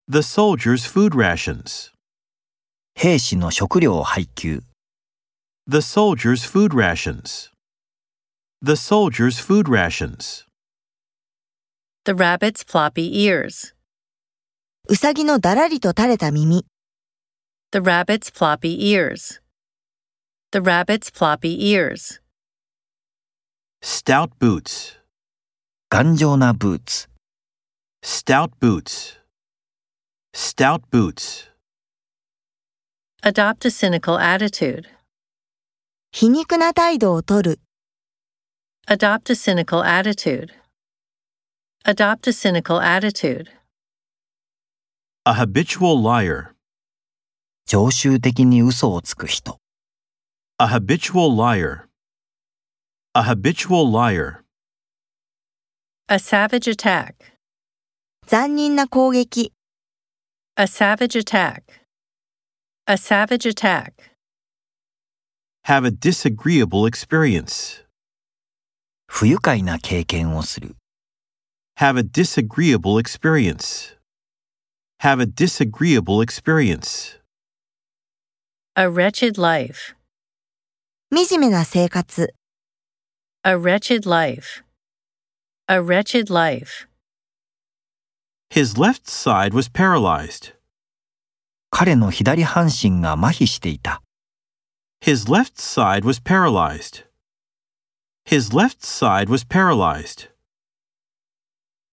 The soldiers' food rations. 兵士の食料配給。 The soldiers' food rations. The soldiers' food rations. The rabbit's floppy ears. うさぎのだらりと垂れた耳。 The rabbit's floppy ears. The rabbit's floppy ears. Stout boots. 頑丈なブーツ。 Stout boots. Stout boots. Adopt a cynical attitude. 皮肉な態度をとる。 Adopt a cynical attitude. Adopt a cynical attitude. A habitual liar. 常習的に嘘をつく人。 A habitual liar. A habitual liar. A savage attack. 残忍な攻撃。 A savage attack. A savage attack. Have a disagreeable experience. 不愉快な経験をする。 Have a disagreeable experience. Have a disagreeable experience. A wretched life. 惨めな生活。 A wretched life. A wretched life. His left side was paralyzed. 彼の左半身が麻痺していた。 His left side was paralyzed. His left side was paralyzed.